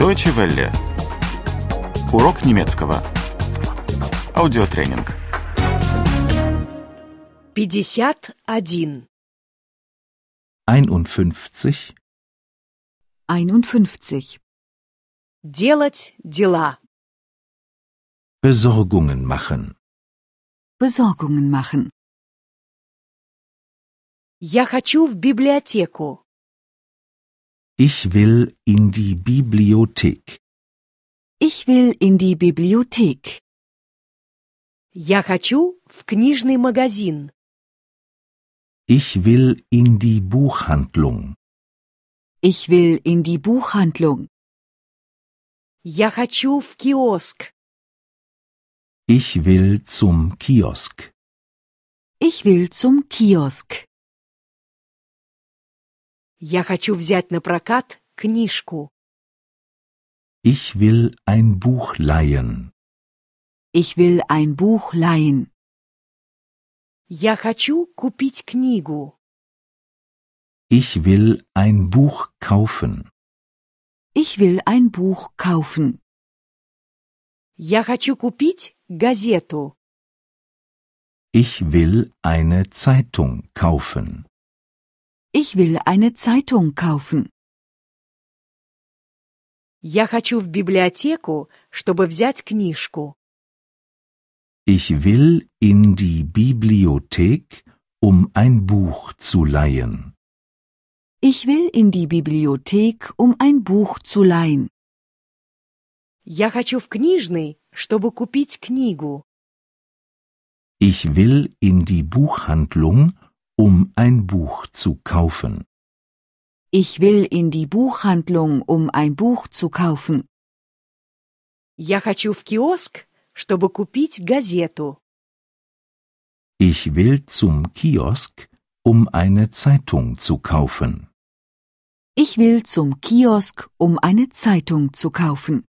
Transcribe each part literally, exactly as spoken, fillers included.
Deutsche Welle. Урок немецкого. Аудиотренинг. пятьдесят один. einundfünfzig. einundfünfzig. Делать дела. Besorgungen machen. Besorgungen machen. Я хочу в библиотеку. Ich will in die Bibliothek. Ich will in die Bibliothek. Я хочу в книжный магазин. Ich will in die Buchhandlung. Ich will in die Buchhandlung. Я хочу в киоск. Ich will zum Kiosk. Ich will zum Kiosk. Я хочу взять на прокат книжку. Ich will ein Buch leihen. Ich will ein Buch leihen. Я хочу купить книгу. Ich will ein Buch kaufen. Ich will ein Buch kaufen. Я хочу купить газету. Ich will eine Zeitung kaufen. Ich will eine Zeitung kaufen. Я хочу в библиотеку, чтобы взять книжку. Ich will in die Bibliothek, um ein Buch zu leihen. Ich will in die Bibliothek, um ein Buch zu leihen. Я хочу в книжный, чтобы купить книгу. Ich will in die Buchhandlung, um ein Buch zu kaufen. Ich will in die Buchhandlung, um ein Buch zu kaufen. Я хочу в киоск, чтобы купить газету. Ich will zum Kiosk, um eine Zeitung zu kaufen. Ich will zum Kiosk, um eine Zeitung zu kaufen.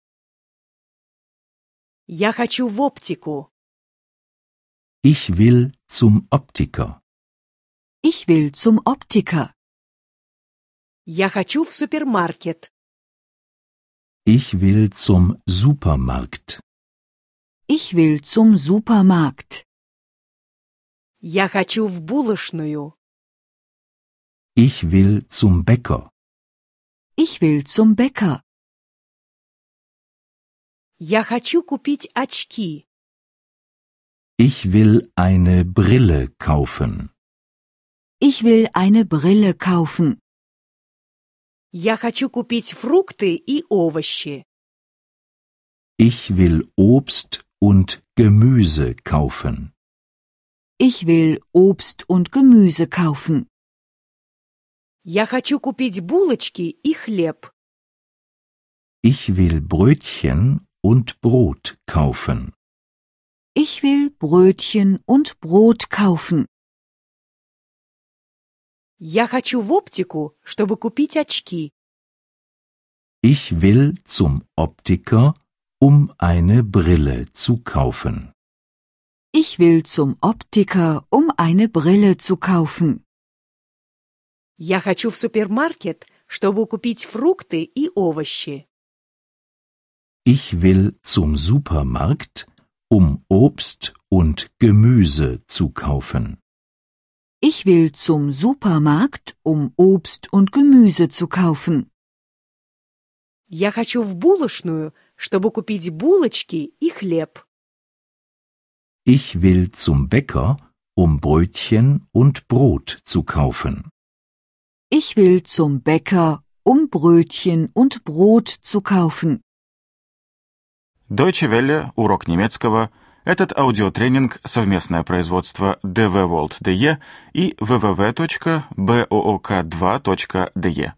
Я хочу в оптику. Ich will zum Optiker. Ich will zum Optiker. Я хочу в супермаркет. Ich will zum Supermarkt. Ich will zum Supermarkt. Я хочу в булочную. Ich will zum Bäcker. Ich will zum Bäcker. Я хочу купить очки. Ich will eine Brille kaufen. Ich will eine Brille kaufen. Я хочу купить фрукты и овощи. Ich will Obst und Gemüse kaufen. Ich will Obst und Gemüse kaufen. Я хочу купить булочки и хлеб. Ich will Brötchen und Brot kaufen. Ich will Brötchen und Brot kaufen. Я хочу в оптику, чтобы купить очки. Ich will zum Optiker, um eine Brille zu kaufen. Ich will zum Optiker, um eine Brille zu kaufen. Я хочу в супермаркет, чтобы купить фрукты и овощи. Ich will zum Supermarkt, um Obst und Gemüse zu kaufen. Ich will zum Supermarkt, um Obst und Gemüse zu kaufen. Я хочу в булочную, чтобы купить булочки и хлеб. Ich will zum Bäcker, um Brötchen und Brot zu kaufen. Ich will zum Bäcker, um Brötchen und Brot zu kaufen. Deutsche Welle. Урок немецкого. Этот аудиотренинг – совместное производство дэ вэ World точка дэ и дабл ю дабл ю дабл ю точка боок два точка дэ и.